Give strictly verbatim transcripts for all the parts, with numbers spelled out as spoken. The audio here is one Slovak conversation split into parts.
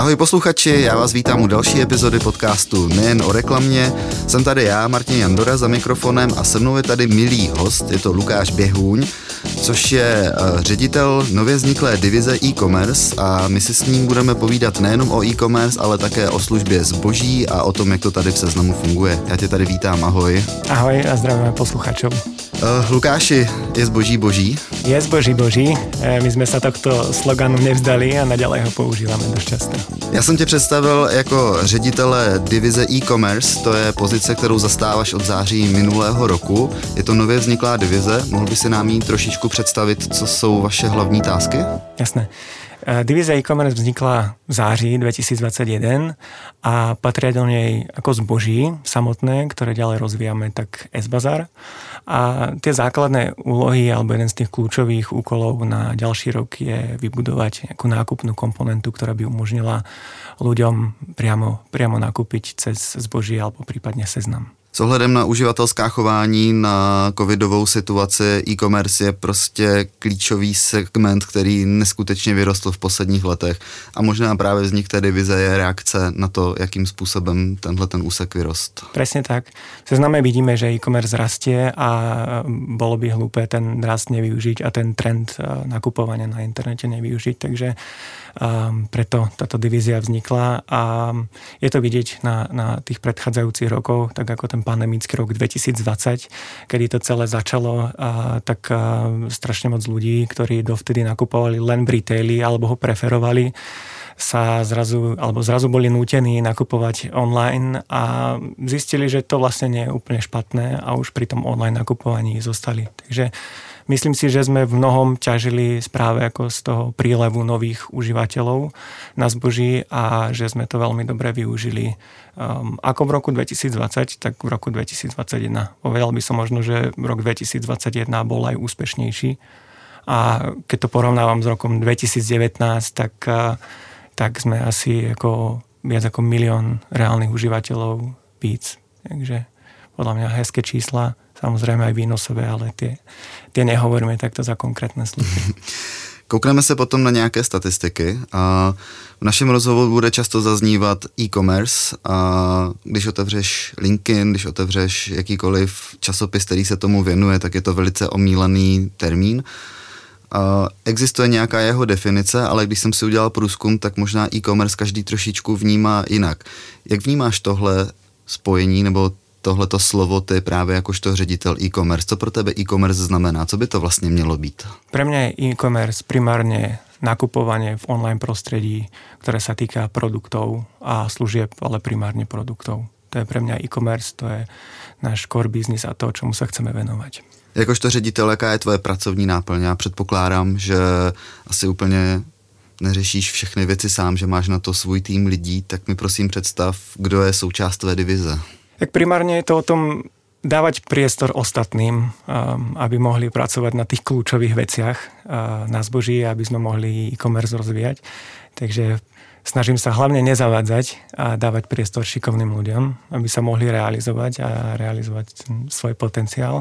Ahoj posluchači, já vás vítám u další epizody podcastu Nejen o reklamě. Jsem tady já, Martin Jandora, za mikrofonem a se mnou je tady milý host, je to Lukáš Běhůň, což je ředitel nově vzniklé divize e-commerce a my si s ním budeme povídat nejenom o e-commerce, ale také o službě zboží a o tom, jak to tady v Seznamu funguje. Já tě tady vítám, ahoj. Ahoj a zdravíme posluchačov. Uh, Lukáši, je zboží boží? Je zboží boží, my jsme se takto sloganu nevzdali a naďalej ho používáme dost často. Já jsem tě představil jako ředitele divize e-commerce, to je pozice, kterou zastáváš od září minulého roku. Je to nově vzniklá divize, mohl by si nám jí trošičku představit, co jsou vaše hlavní tásky? Jasné. Divízia e-commerce vznikla v září dvetisícdvadsaťjeden a patria do nej ako zboží samotné, ktoré ďalej rozvíjame, tak S-Bazar. A tie základné úlohy alebo jeden z tých kľúčových úkolov na ďalší rok je vybudovať nejakú nákupnú komponentu, ktorá by umožnila ľuďom priamo, priamo nakúpiť cez zboží alebo prípadne Seznam. S ohledem na uživatelská chování, na covidovou situaci, e-commerce je prostě klíčový segment, který neskutečně vyrostl v posledních letech a možná právě vznik té divize je reakce na to, jakým způsobem tenhle ten úsek vyrost. Presne tak. V Sezname vidíme, že e-commerce rastie a bolo by hlúpe ten rast nevyužiť a ten trend nakupovania na internete nevyužiť, takže um, preto táto divízia vznikla a je to vidieť na, na tých predchádzajúcich rokoch, tak ako ten pandemický rok dvetisícdvadsať, kedy to celé začalo, a, tak a, strašne moc ľudí, ktorí dovtedy nakupovali len v retaili alebo ho preferovali, sa zrazu, alebo zrazu boli nútení nakupovať online a zistili, že to vlastne nie je úplne špatné a už pri tom online nakupovaní zostali. Takže myslím si, že sme v mnohom ťažili práve ako z toho prílevu nových užívateľov na zboží a že sme to veľmi dobre využili. Um, ako v roku dvetisícdvadsať, tak v roku dvetisícdvadsaťjeden. Povedal by som možno, že rok dvetisícdvadsaťjeden bol aj úspešnejší. A keď to porovnávam s rokom dvetisícdevätnásť, tak, tak sme asi ako, viac ako milión reálnych užívateľov víc. Takže podľa mňa hezké čísla, samozrejme aj výnosové, ale tie, tie nehovoríme takto za konkrétne služby. Koukneme se potom na nějaké statistiky a v našem rozhovoru bude často zaznívat e-commerce a když otevřeš LinkedIn, když otevřeš jakýkoliv časopis, který se tomu věnuje, tak je to velice omílaný termín. A existuje nějaká jeho definice, ale když jsem si udělal průzkum, tak možná e-commerce každý trošičku vnímá jinak. Jak vnímáš tohle spojení nebo tohleto slovo ty právě jakožto ředitel e-commerce? Co pro tebe e-commerce znamená? Co by to vlastně mělo být? Pre mňa je e-commerce primárne nakupovanie v online prostredí, ktoré sa týka produktov a služieb, ale primárne produktov. To je pre mňa e-commerce, to je náš core business a to, čomu sa chceme venovať. Jakožto ředitel, jaká je tvoje pracovní náplň? Já předpokládám, že asi úplně neřešíš všechny věci sám, že máš na to svůj tým lidí, tak mi prosím představ, kdo je součást tvé divize. Tak primárne je to o tom dávať priestor ostatným, aby mohli pracovať na tých kľúčových veciach na zboží, aby sme mohli e-commerce rozvíjať. Takže snažím sa hlavne nezavádzať a dávať priestor šikovným ľuďom, aby sa mohli realizovať a realizovať svoj potenciál.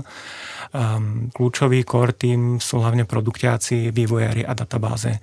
Kľúčový core tým sú hlavne produktiaci, vývojári a databáze.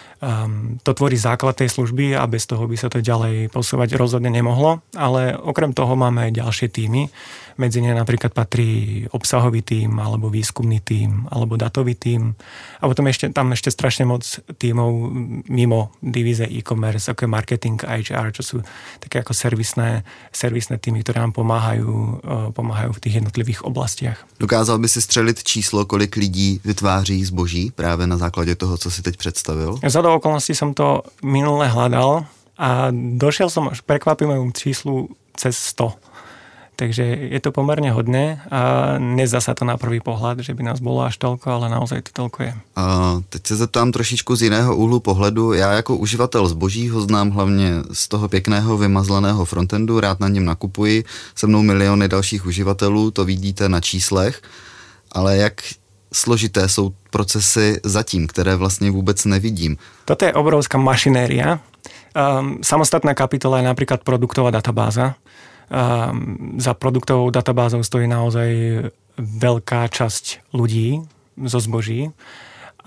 Um, to tvorí základ tej služby a bez toho by sa to ďalej posúvať rozhodne nemohlo, ale okrem toho máme aj ďalšie týmy. Medzi ne napríklad patrí obsahový tím, alebo výskumný tím, alebo datový tím. A potom ešte, tam ešte strašne moc tímov mimo divíze e-commerce, ako je marketing a há er, čo sú také ako servisné, servisné týmy, ktoré nám pomáhajú, pomáhajú v tých jednotlivých oblastiach. Dokázal by si střelit číslo, kolik lidí vytváří zboží právě na základě toho, co si teď představil? Zhodou okolností som to minule hľadal a došiel som až prekvapivému číslu cez sto. Takže je to pomerne hodne a nezdá sa to na prvý pohľad, že by nás bolo až toľko, ale naozaj to toľko je. A teď se zeptám trošičku z jiného úhlu pohledu. Já jako uživatel zboží ho znám hlavně z toho pěkného vymazleného frontendu, rád na něm nakupuji, se mnou miliony dalších uživatelů, to vidíte na číslech, ale jak složité jsou procesy zatím, které vlastně vůbec nevidím. Toto je obrovská mašinéria. Um, samostatná kapitola je napríklad produktová databáza. Um, za produktovou databázou stojí naozaj veľká časť ľudí zo zboží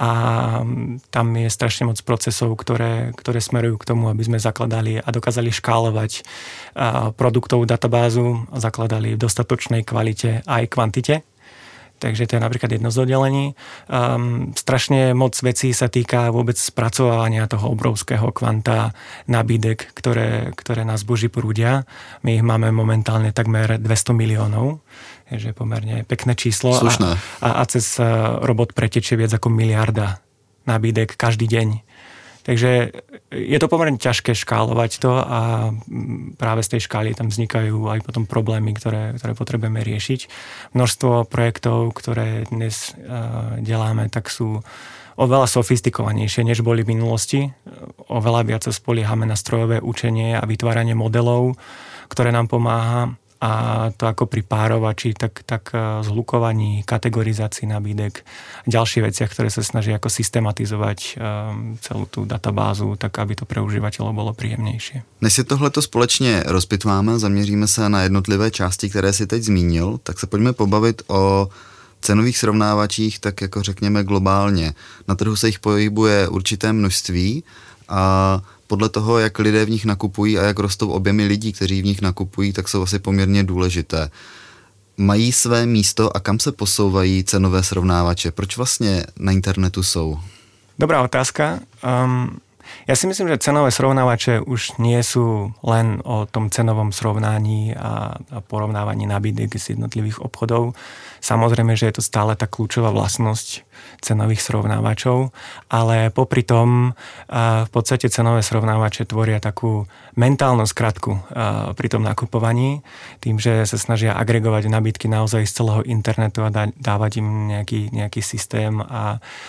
a tam je strašne moc procesov, ktoré, ktoré smerujú k tomu, aby sme zakladali a dokázali škálovať produktovú databázu, zakladali v dostatočnej kvalite aj kvantite. Takže to je napríklad jedno z oddelení. Um, strašne moc vecí sa týka vôbec spracovania toho obrovského kvanta nabídek, ktoré, ktoré na zboží prúdia. My ich máme momentálne takmer dvesto miliónov, takže pomerne pekné číslo. Slušné. A, a, a cez robot pretečie viac ako miliarda nabídek každý deň. Takže je to pomerne ťažké škálovať to a práve z tej škály tam vznikajú aj potom problémy, ktoré, ktoré potrebujeme riešiť. Množstvo projektov, ktoré dnes uh, deláme, tak sú oveľa sofistikovanejšie, než boli v minulosti. Oveľa viac sa spoliehame na strojové učenie a vytváranie modelov, ktoré nám pomáha. A to ako pri párovači, tak, tak zhlukovaní, kategorizácii nabídek, ďalšie veciach, ktoré sa snaží ako systematizovať um, celú tú databázu, tak aby to pre užívateľov bolo príjemnejšie. Než si tohleto společně rozpitváme, zaměříme se na jednotlivé části, které si teď zmínil, tak se pojďme pobavit o cenových srovnávačích, tak jako řekněme globálně. Na trhu se jich pohybuje určité množství a podle toho, jak lidé v nich nakupují a jak rostou objemy lidí, kteří v nich nakupují, tak jsou asi poměrně důležité. Mají své místo a kam se posouvají cenové srovnávače? Proč vlastně na internetu jsou? Dobrá otázka. Um, ja si myslím, že cenové srovnávače už nie sú len o tom cenovom srovnaní a, a porovnávaní nabídek z jednotlivých obchodov. Samozrejme, že je to stále tá kľúčová vlastnosť cenových srovnávačov, ale popri tom v podstate cenové srovnávače tvoria takú mentálnu skratku pri tom nakupovaní, tým, že sa snažia agregovať nabídky naozaj z celého internetu a dávať im nejaký, nejaký systém a, a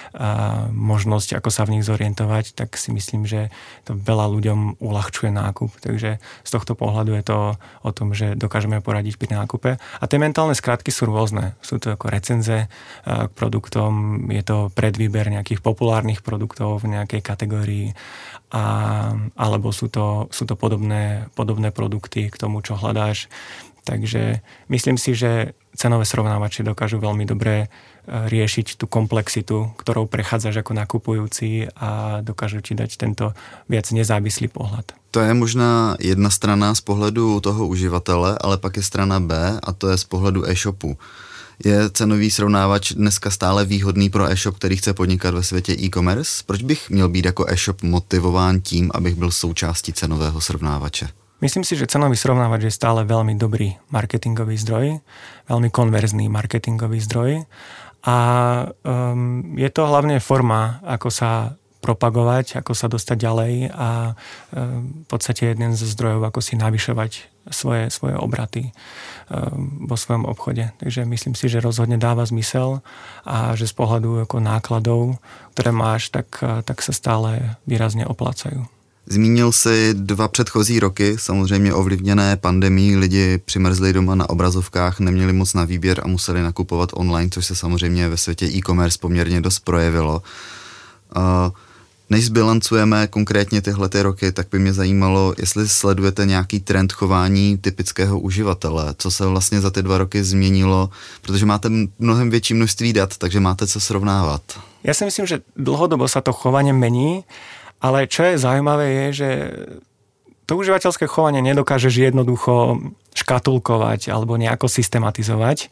možnosť, ako sa v nich zorientovať, tak si myslím, že to veľa ľuďom uľahčuje nákup. Takže z tohto pohľadu je to o tom, že dokážeme poradiť pri nákupe. A tie mentálne skratky sú rôzne. Sú to ako recenze k produktom, je to predvýber nejakých populárnych produktov v nejakej kategórii, a, alebo sú to, sú to podobné, podobné produkty k tomu, čo hľadáš. Takže myslím si, že cenové srovnávače dokážu veľmi dobre riešiť tú komplexitu, ktorou prechádzaš ako nakupujúci a dokážu ti dať tento viac nezávislý pohľad. To je možná jedna strana z pohledu toho uživatele, ale pak je strana B a to je z pohledu e-shopu. Je cenový srovnávač dneska stále výhodný pro e-shop, který chce podnikat ve světě e-commerce? Proč bych měl být jako e-shop motivován tím, abych byl součástí cenového srovnávače? Myslím si, že cenový srovnávač je stále veľmi dobrý marketingový zdroj, veľmi konverzný marketingový zdroj a um, je to hlavne forma, ako sa propagovať, ako sa dostať ďalej a um, v podstate jeden zo zdrojov, ako si navyšovať svoje, svoje obraty um, vo svojom obchode. Takže myslím si, že rozhodne dáva zmysel a že z pohľadu ako nákladov, ktoré máš, tak, tak sa stále výrazne oplácajú. Zmínil si dva předchozí roky, samozřejmě ovlivněné pandemií, lidi přimrzli doma na obrazovkách, neměli moc na výběr a museli nakupovat online, což se samozřejmě ve světě e-commerce poměrně dost projevilo. Než zbilancujeme konkrétně tyhle ty roky, tak by mě zajímalo, jestli sledujete nějaký trend chování typického uživatele, co se vlastně za ty dva roky změnilo, protože máte mnohem větší množství dat, takže máte co srovnávat. Ja si myslím, že dlhodobo sa to chovanie mení. Ale čo je zaujímavé je, že to užívateľské chovanie nedokážeš jednoducho škatulkovať alebo nejako systematizovať.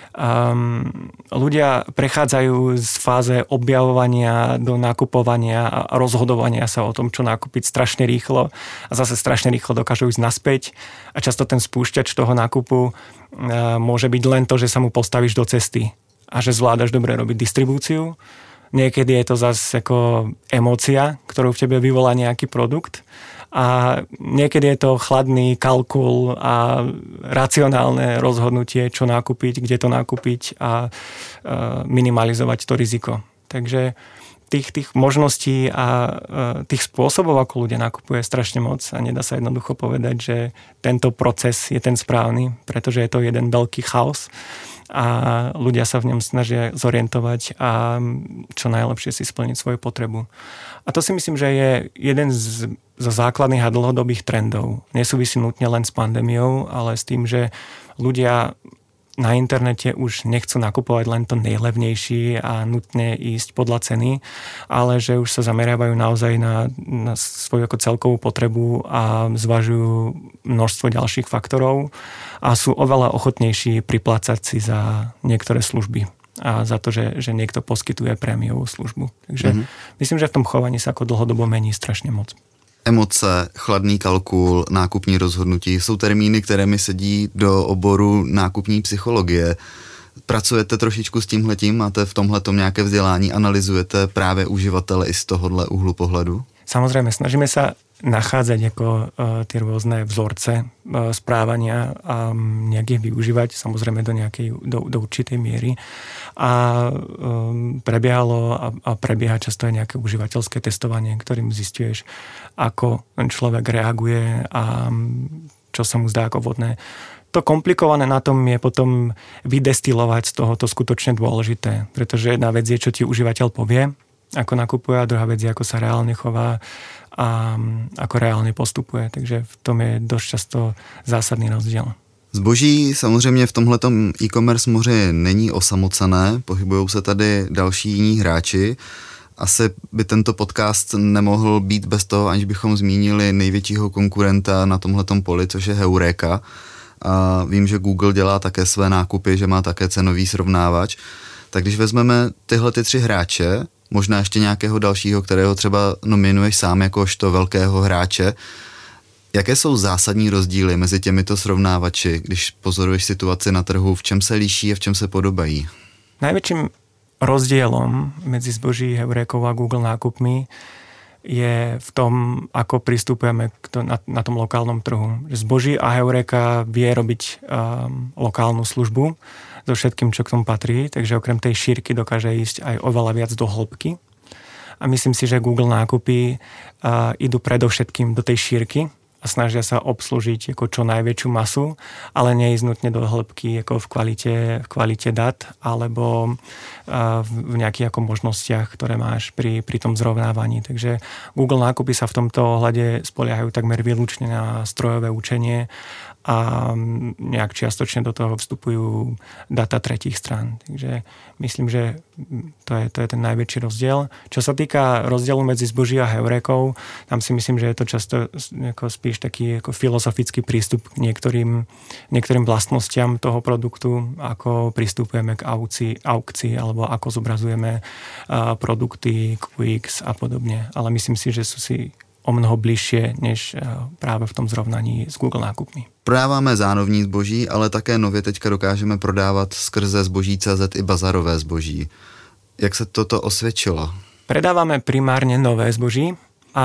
Um, ľudia prechádzajú z fáze objavovania do nakupovania a rozhodovania sa o tom, čo nakúpiť strašne rýchlo a zase strašne rýchlo dokážu ísť naspäť a často ten spúšťač toho nákupu uh, môže byť len to, že sa mu postavíš do cesty a že zvládaš dobre robiť distribúciu. Niekedy je to zase ako emócia, ktorú v tebe vyvolá nejaký produkt a niekedy je to chladný kalkul a racionálne rozhodnutie, čo nakúpiť, kde to nakúpiť a minimalizovať to riziko. Takže tých, tých možností a tých spôsobov, ako ľudia nakupujú, je strašne moc a nedá sa jednoducho povedať, že tento proces je ten správny, pretože je to jeden veľký chaos a ľudia sa v ňom snažia zorientovať a čo najlepšie si splniť svoju potrebu. A to si myslím, že je jeden z, zo základných a dlhodobých trendov. Nesúvisí nutne len s pandémiou, ale s tým, že ľudia na internete už nechcú nakupovať len to najlevnejšie a nutne ísť podľa ceny, ale že už sa zameriavajú naozaj na, na svoju ako celkovú potrebu a zvažujú množstvo ďalších faktorov a sú oveľa ochotnejší priplácať si za niektoré služby a za to, že, že niekto poskytuje prémiovú službu. Takže mm-hmm. myslím, že v tom chovaní sa ako dlhodobo mení strašne moc. Emoce, chladný kalkul, nákupní rozhodnutí jsou termíny, které mi sedí do oboru nákupní psychologie. Pracujete trošičku s tímhletím? Máte v tomhletom nějaké vzdělání? Analyzujete právě uživatele i z tohohle úhlu pohledu? Samozrejme, snažíme sa nachádzať ako uh, tie rôzne vzorce uh, správania a um, nejak ich využívať, samozrejme do nejakej, do, do určitej miery. A um, prebiehalo a, a prebieha často aj nejaké užívateľské testovanie, ktorým zistuješ, ako ten človek reaguje a um, čo sa mu zdá ako vhodné. To komplikované na tom je potom vydestilovať z toho to skutočne dôležité, pretože jedna vec je, čo ti užívateľ povie, ako nakupuje, a druhá vec je, ako sa reálne chová a ako reálne postupuje. Takže v tom je dosť často zásadný rozdiel. Zboží samozřejmě v tomhletom e-commerce moře není osamocené, pohybují se tady další jiní hráči. Asi by tento podcast nemohl být bez toho, aniž bychom zmínili největšího konkurenta na tomhletom poli, což je Heureka. A vím, že Google dělá také své nákupy, že má také cenový srovnávač. Tak když vezmeme tyhle ty tři hráče, možná ještě nějakého dalšího, kterého třeba nominuješ sám jakožto velkého hráče, jaké jsou zásadní rozdíly mezi těmito srovnávači, když pozoruješ situaci na trhu, v čem se liší a v čem se podobají? Najväčším rozdielom medzi zboží Heurekou a Google nákupmi je v tom, ako pristupujeme k to, na, na tom lokálnom trhu. Zboží a Heureka vie robiť um, lokálnu službu so všetkým, čo k tomu patrí, takže okrem tej šírky dokáže ísť aj oveľa viac do hĺbky. A myslím si, že Google nákupy uh, idú predovšetkým do tej šírky a snažia sa obslužiť ako čo najväčšiu masu, ale neísť nutne do hĺbky ako v kvalite, v kvalite dát alebo uh, v nejakých ako možnostiach, ktoré máš pri, pri tom zrovnávaní. Takže Google nákupy sa v tomto ohľade spoliehajú takmer výlučne na strojové učenie a nejak čiastočne do toho vstupujú data tretích strán. Takže myslím, že to je, to je ten najväčší rozdiel. Čo sa týka rozdielu medzi zboží a Heurekou, tam si myslím, že je to často ako spíš taký ako filozofický prístup k niektorým, niektorým vlastnostiam toho produktu, ako pristupujeme k aukcii, aukcii alebo ako zobrazujeme produkty, Q X a podobne. Ale myslím si, že sú si o mnoho bližšie, než práve v tom zrovnaní s Google nákupmi. Prodáváme zánovní zboží, ale také nově teďka dokážeme prodávat skrze zboží tečka cé zet i bazarové zboží. Jak se toto osvědčilo? Predávame primárne nové zboží a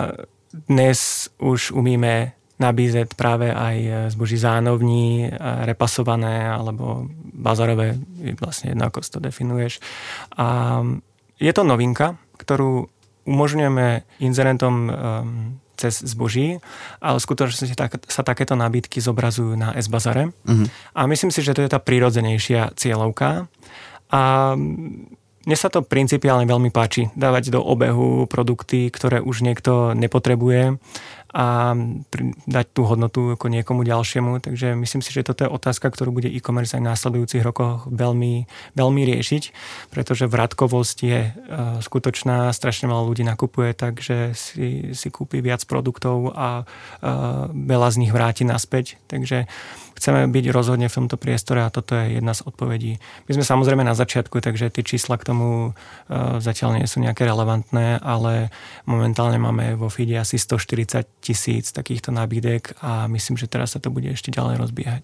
dnes už umíme nabízet práve aj zboží zánovní, repasované alebo bazarové, vlastne jedno, ako si to definuješ. A je to novinka, ktorú umožňujeme inzerentom um, cez zboží, ale skutočne tak, sa takéto nabídky zobrazujú na S-bazare. Uh-huh. A myslím si, že to je tá prirodzenejšia cieľovka. A mne sa to principiálne veľmi páči. Dávať do obehu produkty, ktoré už niekto nepotrebuje a dať tú hodnotu ako niekomu ďalšiemu. Takže myslím si, že toto je otázka, ktorú bude e-commerce aj v následujúcich rokoch veľmi, veľmi riešiť, pretože vratkovosť je uh, skutočná, strašne veľa ľudí nakupuje, takže si, si kúpi viac produktov a uh, veľa z nich vráti naspäť. Takže chceme byť rozhodne v tomto priestore a toto je jedna z odpovedí. My sme samozrejme na začiatku, takže tie čísla k tomu uh, zatiaľ nie sú nejaké relevantné, ale momentálne máme vo feede asi stoštyridsať tisíc takýchto nabídek a myslím, že teraz sa to bude ešte ďalej rozbiehať.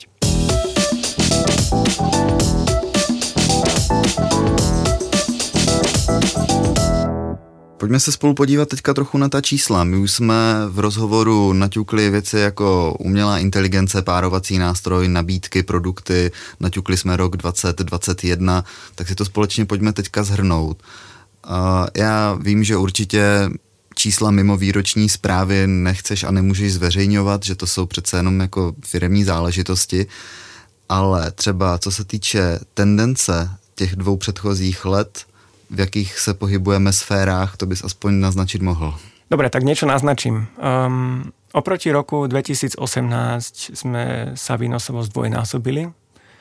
Pojďme se spolu podívat teďka trochu na ta čísla. My už jsme v rozhovoru naťukli věci jako umělá inteligence, párovací nástroj, nabídky, produkty, naťukli jsme rok dvacet dvacet jedna, tak si to společně pojďme teďka zhrnout. Uh, já vím, že určitě čísla mimo výroční zprávy nechceš a nemůžeš zveřejňovat, že to jsou přece jenom jako firemní záležitosti, ale třeba co se týče tendence těch dvou předchozích let, v jakých se pohybujeme sférách, to bys aspoň naznačiť mohl. Dobre, tak niečo naznačím. Um, oproti roku dvetisícosemnásť sme sa výnosovo zdvojnásobili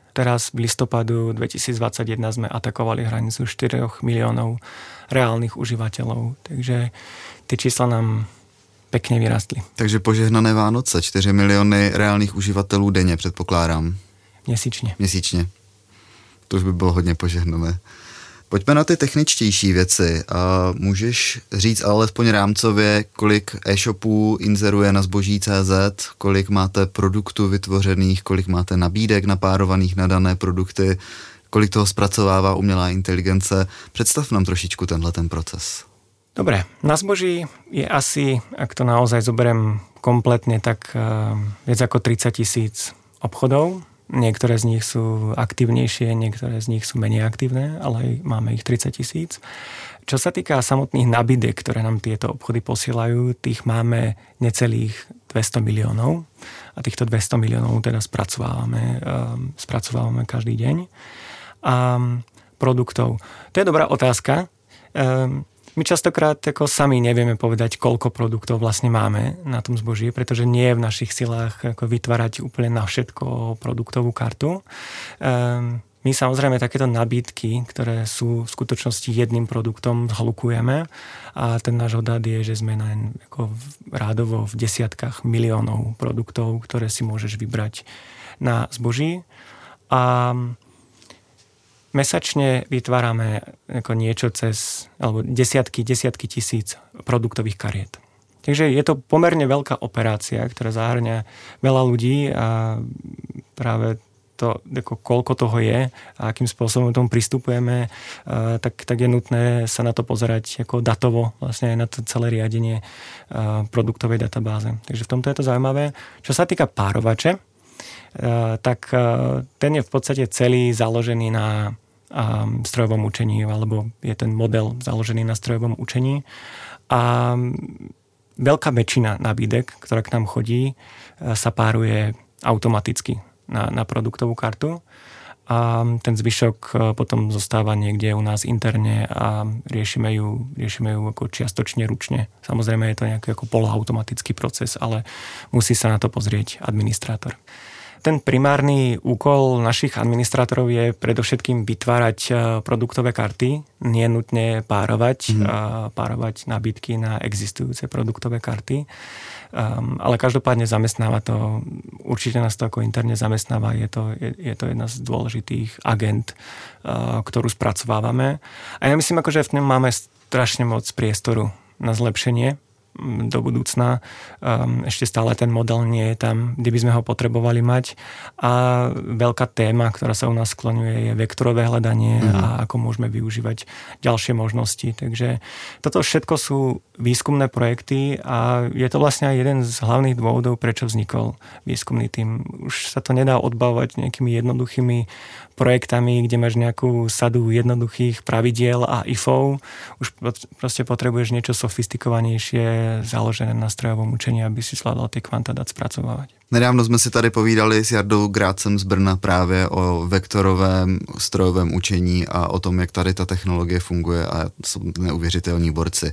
Teraz v listopadu dvetisícdvadsaťjeden sme atakovali hranicu štyri miliónov reálnych užívateľov. Takže tie čísla nám pekne vyrastli. Takže požehnané Vánoce, čtyři miliony reálných uživatelů denně, předpokládám. Měsíčně. Měsíčně. To už by bylo hodně požehnané. Pojďme na ty techničtější věci. A můžeš říct alespoň rámcově, kolik e-shopů inzeruje na zboží tečka cé zet, kolik máte produktů vytvořených, kolik máte nabídek napárovaných na dané produkty, kolik toho zpracovává umělá inteligence. Představ nám trošičku tenhle ten proces. Dobre, na zboží je asi, ak to naozaj zoberiem kompletne, tak uh, viac ako tridsať tisíc obchodov. Niektoré z nich sú aktívnejšie, niektoré z nich sú menej aktívne, ale máme ich tridsať tisíc. Čo sa týka samotných nabídek, ktoré nám tieto obchody posielajú, tých máme necelých dvesto miliónov. A týchto dvesto miliónov teda spracovávame, um, spracovávame každý deň. A um, produktov. To je dobrá otázka. Um, My častokrát ako sami nevieme povedať, koľko produktov vlastne máme na tom zboží, pretože nie je v našich silách ako vytvárať úplne na všetko produktovú kartu. Um, my samozrejme takéto nabídky, ktoré sú v skutočnosti jedným produktom, zhlukujeme a ten náš odhad je, že sme na, ako rádovo v desiatkách miliónov produktov, ktoré si môžeš vybrať na zboží. A mesačne vytvárame ako niečo cez, alebo desiatky, desiatky tisíc produktových kariet. Takže je to pomerne veľká operácia, ktorá zahŕňa veľa ľudí a práve to, ako koľko toho je a akým spôsobom tomu pristupujeme, tak, tak je nutné sa na to pozerať ako datovo, vlastne aj na to celé riadenie produktovej databáze. Takže v tomto je to zaujímavé. Čo sa týka párovače, tak ten je v podstate celý založený na strojovom učení, alebo je ten model založený na strojovom učení. A veľká väčšina nabídek, ktorá k nám chodí, sa páruje automaticky na, na produktovú kartu. A ten zvyšok potom zostáva niekde u nás interne a riešime ju, riešime ju ako čiastočne ručne. Samozrejme je to nejaký ako poloautomatický proces, ale musí sa na to pozrieť administrátor. Ten primárny úkol našich administrátorov je predovšetkým vytvárať produktové karty, nie nutne párovať, mm. párovať nabídky na existujúce produktové karty. Um, ale každopádne zamestnáva to, určite nás to ako interne zamestnáva, je to, je, je to jedna z dôležitých agent, uh, ktorú spracovávame. A ja myslím, ako, že v ňom máme strašne moc priestoru na zlepšenie do budúcna. Um, ešte stále ten model nie je tam, kde by sme ho potrebovali mať. A veľká téma, ktorá sa u nás skloňuje, je vektorové hľadanie mm. a ako môžeme využívať ďalšie možnosti. Takže toto všetko sú výskumné projekty a je to vlastne aj jeden z hlavných dôvodov, prečo vznikol výskumný tím. Už sa to nedá odbavovať nejakými jednoduchými projektami, kde máš nejakú sadu jednoduchých pravidiel a ifov. Už proste potrebuješ niečo sofistikovanejšie, založené na strojovom učení, aby si zvládal tie kvanta dát spracovávať. Nedávno jsme si tady povídali s Jardou Grácem z Brna právě o vektorovém strojovém učení a o tom, jak tady ta technologie funguje a jsou neuvěřitelní borci.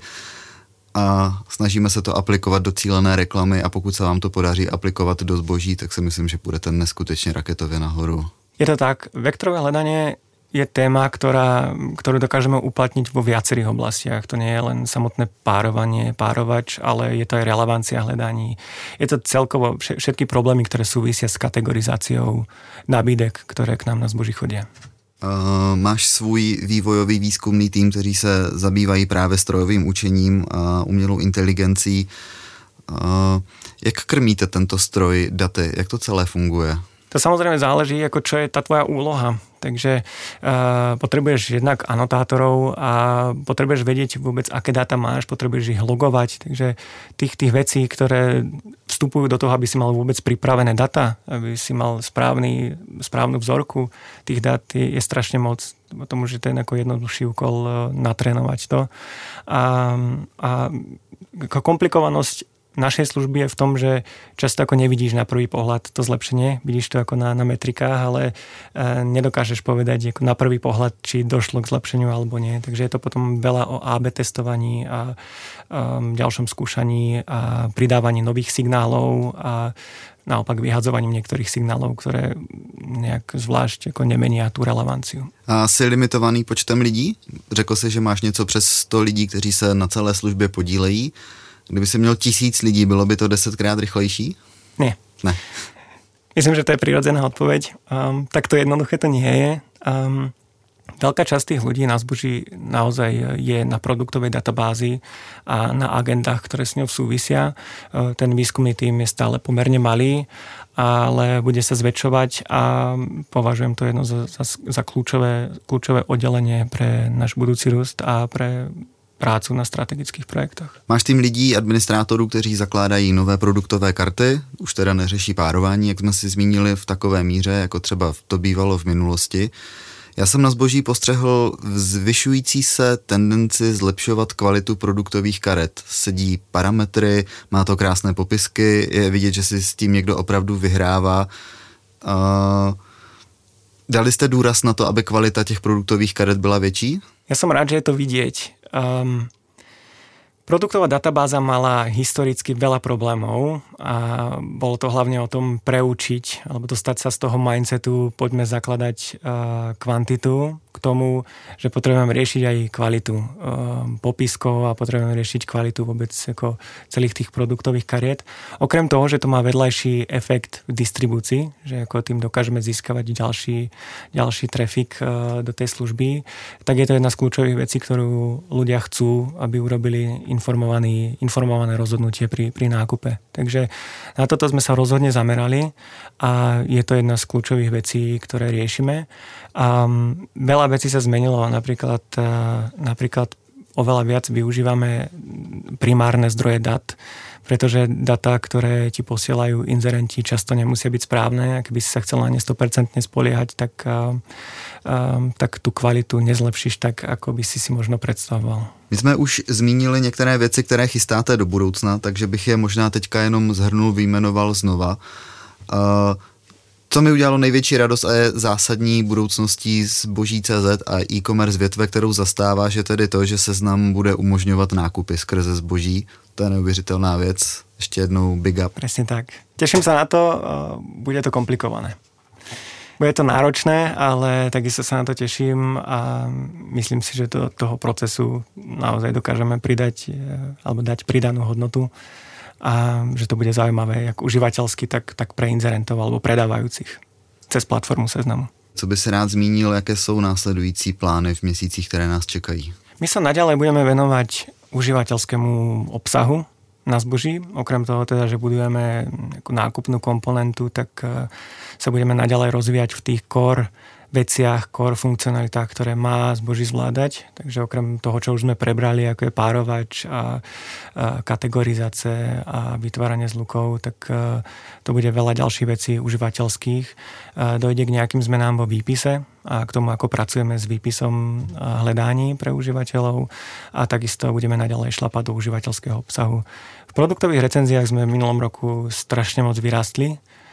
A snažíme se to aplikovat do cílené reklamy a pokud se vám to podaří aplikovat do zboží, tak si myslím, že půjdete neskutečně raketově nahoru. Je to tak. Vektorové hľadanie je téma, ktorá, ktorú dokážeme uplatniť vo viacerých oblastiach. To nie je len samotné párovanie, párovač, ale je to aj relevancia hľadaní. Je to celkovo všetky problémy, ktoré súvisia s kategorizáciou nabídek, ktoré k nám na zboží chodia. Uh, máš svůj vývojový výzkumný tým, kteří se zabývají právě strojovým učením a umělou inteligencí. Uh, jak krmíte tento stroj daty? Jak to celé funguje? To samozrejme záleží, ako čo je tá tvoja úloha. Takže uh, potrebuješ jednak anotátorov a potrebuješ vedieť vôbec, aké dáta máš, potrebuješ ich logovať. Takže tých, tých vecí, ktoré vstupujú do toho, aby si mal vôbec pripravené data, aby si mal správny, správnu vzorku tých dát, je, je strašne moc. Tomu, že to je ako jednoduchší úkol uh, natrénovať to. A, a komplikovanosť našej služby je v tom, že často ako nevidíš na prvý pohľad to zlepšenie, vidíš to ako na, na metrikách, ale e, nedokážeš povedať ako na prvý pohľad, či došlo k zlepšeniu alebo nie. Takže je to potom veľa o á bé testovaní a, a ďalšom skúšaní a pridávaní nových signálov a naopak vyhadzovaním niektorých signálov, ktoré nejak zvlášť ako nemenia tú relevanciu. A jsi limitovaný počtem lidí? Řekl jsi, že máš něco přes sto lidí, kteří se na celé službě podílejí. Kdyby si měl tisíc lidí, bylo by to desetkrát rychlejší? Nie. Ne. Myslím, že to je prirodzená odpoveď. Um, tak to jednoduché to nie je. Um, Veľká časť tých ľudí na zboží naozaj je na produktovej databázi a na agendách, ktoré s ňou súvisia. Ten výskumný tím je stále pomerne malý, ale bude sa zväčšovať a považujem to jedno za, za, za kľúčové, kľúčové oddelenie pre náš budúci růst a pre prácu na strategických projektoch. Máš tým lidí, administrátorů, kteří zakládají nové produktové karty, už teda neřeší párování, jak jsme si zmínili v takové míře, jako třeba to bývalo v minulosti. Já jsem na zboží postřehl zvyšující se tendenci zlepšovat kvalitu produktových karet. Sedí parametry, má to krásné popisky, je vidět, že si s tím někdo opravdu vyhrává. Uh, dali jste důraz na to, aby kvalita těch produktových karet byla větší? Ja som rád, že je to vidieť. Um, Produktová databáza mala historicky veľa problémov a bolo to hlavne o tom preučiť alebo dostať sa z toho mindsetu, poďme zakladať uh, kvantitu k tomu, že potrebujeme riešiť aj kvalitu uh, popiskov a potrebujeme riešiť kvalitu vôbec ako celých tých produktových kariet. Okrem toho, že to má vedľajší efekt v distribúcii, že ako tým dokážeme získavať ďalší, ďalší trafik uh, do tej služby, tak je to jedna z kľúčových vecí, ktorú ľudia chcú, aby urobili informovaný, informované rozhodnutie pri, pri nákupe. Takže na toto sme sa rozhodne zamerali a je to jedna z kľúčových vecí, ktoré riešime. A veľa vecí sa zmenilo, napríklad, napríklad oveľa viac využívame primárne zdroje dát, pretože data, ktoré ti posielajú inzerenti, často nemusia byť správne. Ak by si sa chcel na ne sto percent spoliehať, tak, tak tú kvalitu nezlepšíš tak, ako by si si možno predstavoval. My jsme už zmínili některé věci, které chystáte do budoucna, takže bych je možná teďka jenom zhrnul, vyjmenoval znova. Uh, Co mi udělalo největší radost a je zásadní budoucností zboží tečka cé zet a e-commerce větve, kterou zastáváš, je tedy to, že Seznam bude umožňovat nákupy skrze zboží. To je neuvěřitelná věc. Ještě jednou big up. Presne tak. Teším sa na to, bude to komplikované. Bude to náročné, ale takisto sa na to teším a myslím si, že do toho procesu naozaj dokážeme pridať alebo dať pridanú hodnotu a že to bude zaujímavé jak užívateľsky, tak, tak pre inzerentov alebo predávajúcich cez platformu Seznamu. Co by si rád zmínil, jaké jsou následující plány v měsících, které nás čekají? My sa naďalej budeme venovať užívateľskému obsahu na zboží. Okrem toho teda, že budujeme nákupnú komponentu, tak sa budeme naďalej rozvíjať v tých core veciach, core funkcionalitách, ktoré má zboží zvládať. Takže okrem toho, čo už sme prebrali, ako je párovač a, a kategorizácie a vytváranie zlukov, tak a, to bude veľa ďalších vecí užívateľských. A dojde k nejakým zmenám vo výpise a k tomu, ako pracujeme s výpisom hledání pre užívateľov a takisto budeme naďalej šlapať do užívateľského obsahu. V produktových recenziách sme v minulom roku strašne moc vyrástli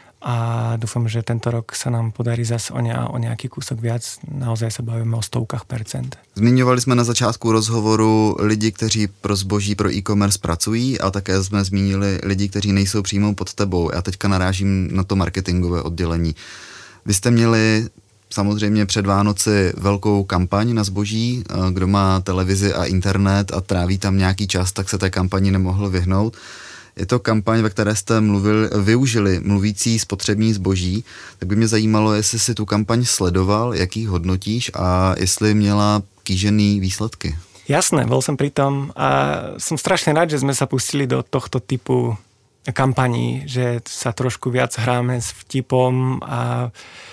a dúfam, že tento rok sa nám podarí zase o, ne, o nejaký kúsok viac. Naozaj sa bavíme o stovkách percent. Zmiňovali jsme na začátku rozhovoru lidi, kteří pro zboží, pro e-commerce pracují, a také jsme zmínili lidi, kteří nejsou přímo pod tebou. Já teďka narážím na to marketingové oddělení. Vy jste měli samozřejmě před Vánoci velkou kampaň na zboží. Kdo má televizi a internet a tráví tam nějaký čas, tak se té kampani nemohl vyhnout. Je to kampaň, ve které jste mluvil, využili mluvící spotřební zboží, tak by mě zajímalo, jestli si tu kampaň sledoval, jaký hodnotíš a jestli měla kýžený výsledky. Jasné, bol som pri tom a som strašne rád, že sme sa pustili do tohto typu kampaní, že sa trošku viac hráme s vtipom a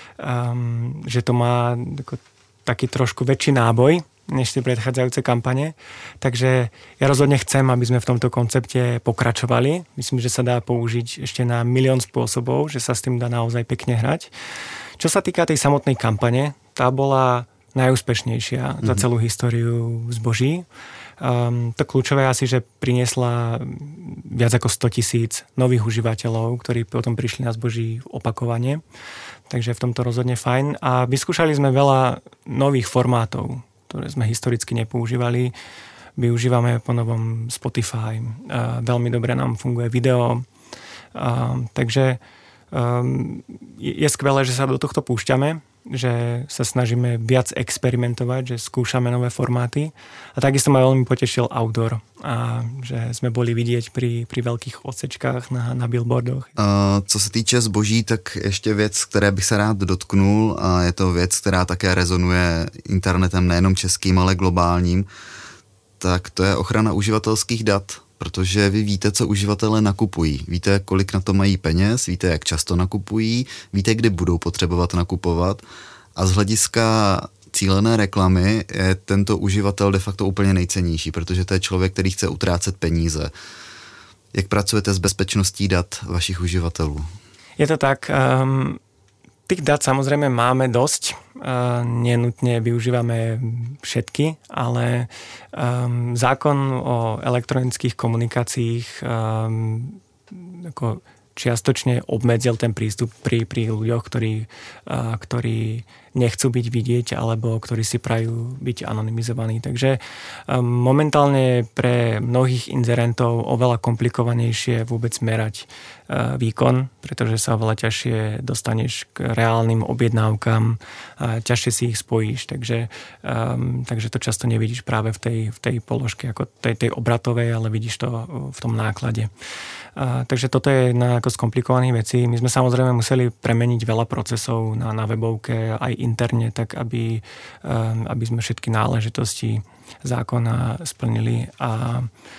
um, že to má taký trošku väčší náboj než tie predchádzajúce kampane. Takže ja rozhodne chcem, aby sme v tomto koncepte pokračovali. Myslím, že sa dá použiť ešte na milión spôsobov, že sa s tým dá naozaj pekne hrať. Čo sa týka tej samotnej kampane, tá bola najúspešnejšia mm-hmm. za celú históriu zboží. Um, to kľúčové asi, že priniesla viac ako sto tisíc nových užívateľov, ktorí potom prišli na zboží opakovane. Takže v tomto rozhodne fajn. A vyskúšali sme veľa nových formátov, ktoré sme historicky nepoužívali. Využívame po novom Spotify. Uh, veľmi dobre nám funguje video. Uh, takže um, je, je skvelé, že sa do tohto púšťame, že sa snažíme viac experimentovať, že skúšame nové formáty. A takisto ma veľmi potešil outdoor. A že sme boli vidieť pri, pri veľkých odsečkách na, na billboardoch. Uh, co se týče zboží, tak ještě věc, které bych se rád dotknul, a je to věc, která také rezonuje internetem nejenom českým, ale globálním, tak to je ochrana uživatelských dat. Protože vy víte, co uživatelé nakupují. Víte, kolik na to mají peněz, víte, jak často nakupují, víte, kdy budou potřebovat nakupovat. A z hlediska cílené reklamy je tento uživatel de facto úplně nejcennější, protože to je člověk, který chce utrácet peníze. Jak pracujete s bezpečností dat vašich uživatelů? Je to tak. Um, tých dát samozrejme máme dosť. Uh, nenutne využívame všetky, ale um, zákon o elektronických komunikáciách um, ako čiastočne obmedzil ten prístup pri, pri ľuďoch, ktorí, uh, ktorí nechcú byť vidieť alebo ktorí si prajú byť anonymizovaní. Takže um, momentálne pre mnohých inzerentov oveľa komplikovanejšie vôbec merať uh, výkon, pretože sa oveľa ťažšie dostaneš k reálnym objednávkam, uh, ťažšie si ich spojíš. Takže, um, takže to často nevidíš práve v tej, v tej položke ako tej, tej obratovej, ale vidíš to v tom náklade. Uh, takže toto je jedna ako z komplikovaných vecí. My sme samozrejme museli premeniť veľa procesov na, na webovke aj interne, tak aby, um, aby sme všetky náležitosti zákona splnili. A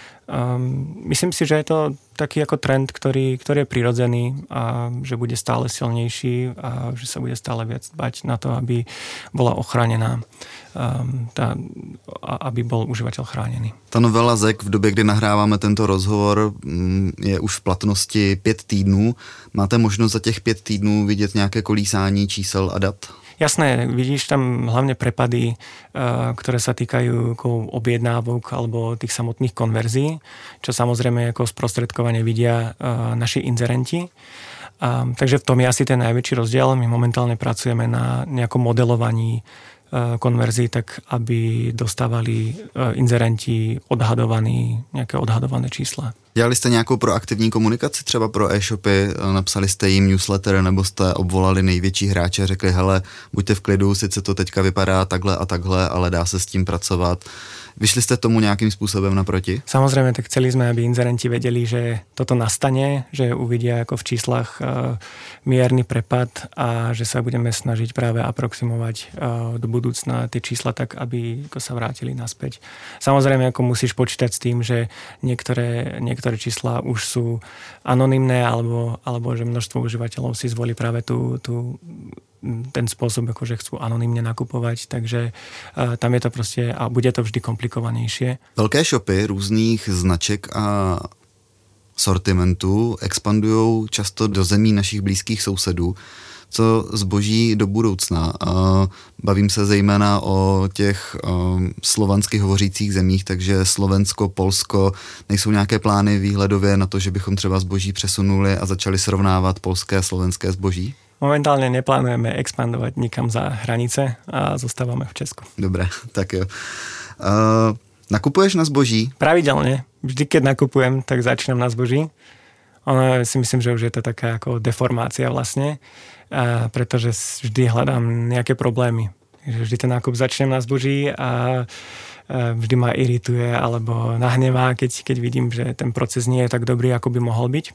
um, myslím si, že je to taký ako trend, ktorý, ktorý je prirodzený a že bude stále silnejší a že sa bude stále viac dbať na to, aby bola ochránená, um, tá, aby bol užívateľ chránený. Ta novela Z E K v době, kdy nahráváme tento rozhovor, je už v platnosti pět týdnů. Máte možnost za těch pět týdnů vidět nějaké kolísání čísel a dat? Jasné, vidíš tam hlavne prepady, ktoré sa týkajú objednávok alebo tých samotných konverzií, čo samozrejme ako sprostredkovane vidia naši inzerenti. Takže v tom je asi ten najväčší rozdiel. My momentálne pracujeme na nejakom modelovaní konverzií, tak aby dostávali inzerenti odhadovaný, nejaké odhadované čísla. Dělali jste nějakou proaktivní komunikaci třeba pro e-shopy, napsali jste jim newsletter nebo jste obvolali největší hráče a řekli, hele, buďte v klidu, sice to teďka vypadá takhle a takhle, ale dá se s tím pracovat. Vyšli ste tomu nejakým spôsobom naproti? Samozrejme, tak chceli sme, aby inzerenti vedeli, že toto nastane, že uvidia ako v číslach uh, mierny prepad a že sa budeme snažiť práve aproximovať uh, do budúcna tie čísla tak, aby ako sa vrátili naspäť. Samozrejme, ako musíš počítať s tým, že niektoré, niektoré čísla už sú anonymné alebo, alebo že množstvo užívateľov si zvolí práve tú, tú ten spôsob, akože chcú anonymne nakupovať, takže uh, tam je to proste a bude to vždy komplikovanejšie. Velké shopy různých značek a sortimentů expandujou často do zemí našich blízkých sousedů, co zboží do budoucna. Uh, bavím se zejména o těch um, slovansky hovořících zemích, takže Slovensko, Polsko, nejsou nějaké plány výhledově na to, že bychom třeba zboží přesunuli a začali srovnávat polské a slovenské zboží? Momentálne neplánujeme expandovať nikam za hranice a zostávame v Česku. Dobre, tak jo. Uh, nakupuješ na zboží? Pravidelne. Vždy, keď nakupujem, tak začínam na zboží. Ono si myslím, že už je to taká ako deformácia vlastne, a pretože vždy hľadám nejaké problémy. Vždy ten nákup začnem na zboží a vždy ma irituje alebo nahnevá, keď, keď vidím, že ten proces nie je tak dobrý, ako by mohol byť.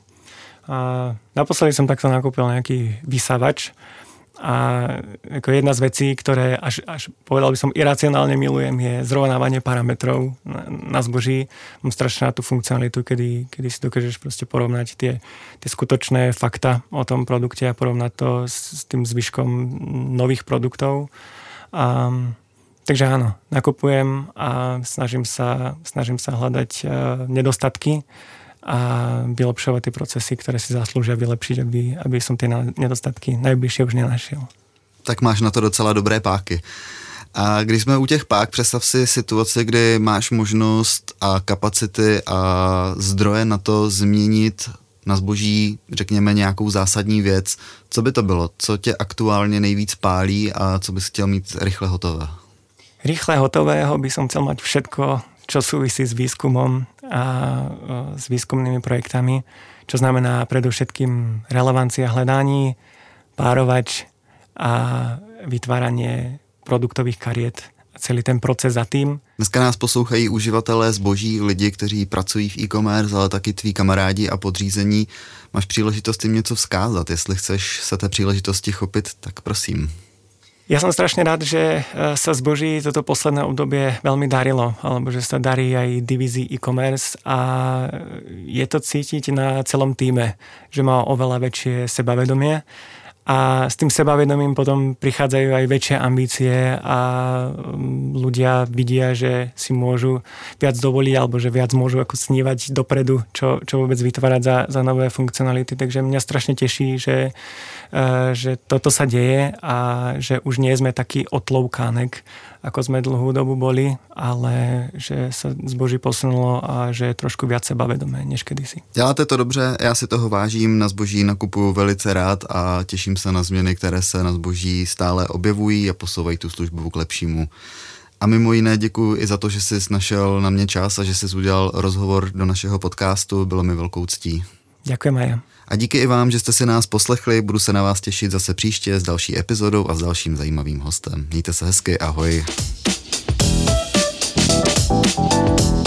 A naposledy som takto nakúpil nejaký vysávač a ako jedna z vecí, ktoré až, až povedal by som iracionálne milujem, je zrovnávanie parametrov na, na zboží. Mám strašne na tú funkcionalitu, kedy, kedy si dokážeš proste porovnať tie, tie skutočné fakta o tom produkte a porovnať to s, s tým zvyškom nových produktov. A, takže áno, nakupujem a snažím sa, snažím sa hľadať uh, nedostatky a vylepšovať tie procesy, ktoré si zaslúžia vylepšiť, aby, aby som tie nedostatky najbližšie už nenašiel. Tak máš na to docela dobré páky. A když jsme u těch pák, představ si situaci, kdy máš možnost a kapacity a zdroje na to změnit na zboží, řekněme, nějakou zásadní věc. Co by to bylo? Co tě aktuálně nejvíc pálí a co bys chtěl mít rychle hotové? Rýchle hotového by som chcel mať všetko, čo súvisí s výskumom a s výskumnými projektami, čo znamená predovšetkým relevancia hledaní, párovač a vytváranie produktových kariet a celý ten proces za tým. Dneska nás poslouchají uživatelé zboží, lidi, kteří pracují v e-commerce, ale taky tví kamarádi a podřízení. Máš příležitost jim něco vzkázat. Jestli chceš se té příležitosti chopit, tak prosím. Ja som strašne rád, že sa zboží toto posledné obdobie veľmi darilo, alebo že sa darí aj divízii e-commerce a je to cítiť na celom týme, že má oveľa väčšie sebavedomie a s tým sebavedomím potom prichádzajú aj väčšie ambície a ľudia vidia, že si môžu viac dovoliť alebo že viac môžu ako snívať dopredu, čo, čo vôbec vytvárať za, za nové funkcionality. Takže mňa strašne teší, že, že toto sa deje a že už nie sme taký otloukánek, ako sme dlhú dobu boli, ale že sa zboží posunulo a že je trošku viac sebavedomé než kedysi. Děláte to dobře, já si toho vážím, na zboží nakupuju velice rád a těším se na změny, které se na zboží stále objevují a posouvají tu službu k lepšímu. A mimo jiné děkuji i za to, že jsi našel na mě čas a že jsi udělal rozhovor do našeho podcastu, bylo mi velkou ctí. Ďakujem aj ja. A díky i vám, že jste si nás poslechli, budu se na vás těšit zase příště s další epizodou a s dalším zajímavým hostem. Mějte se hezky, ahoj.